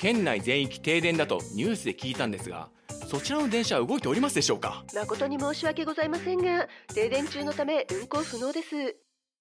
県内全域停電だとニュースで聞いたんですが、そちらの電車は動いておりますでしょうか？ 誠に申し訳ございませんが、停電中のため運行不能です。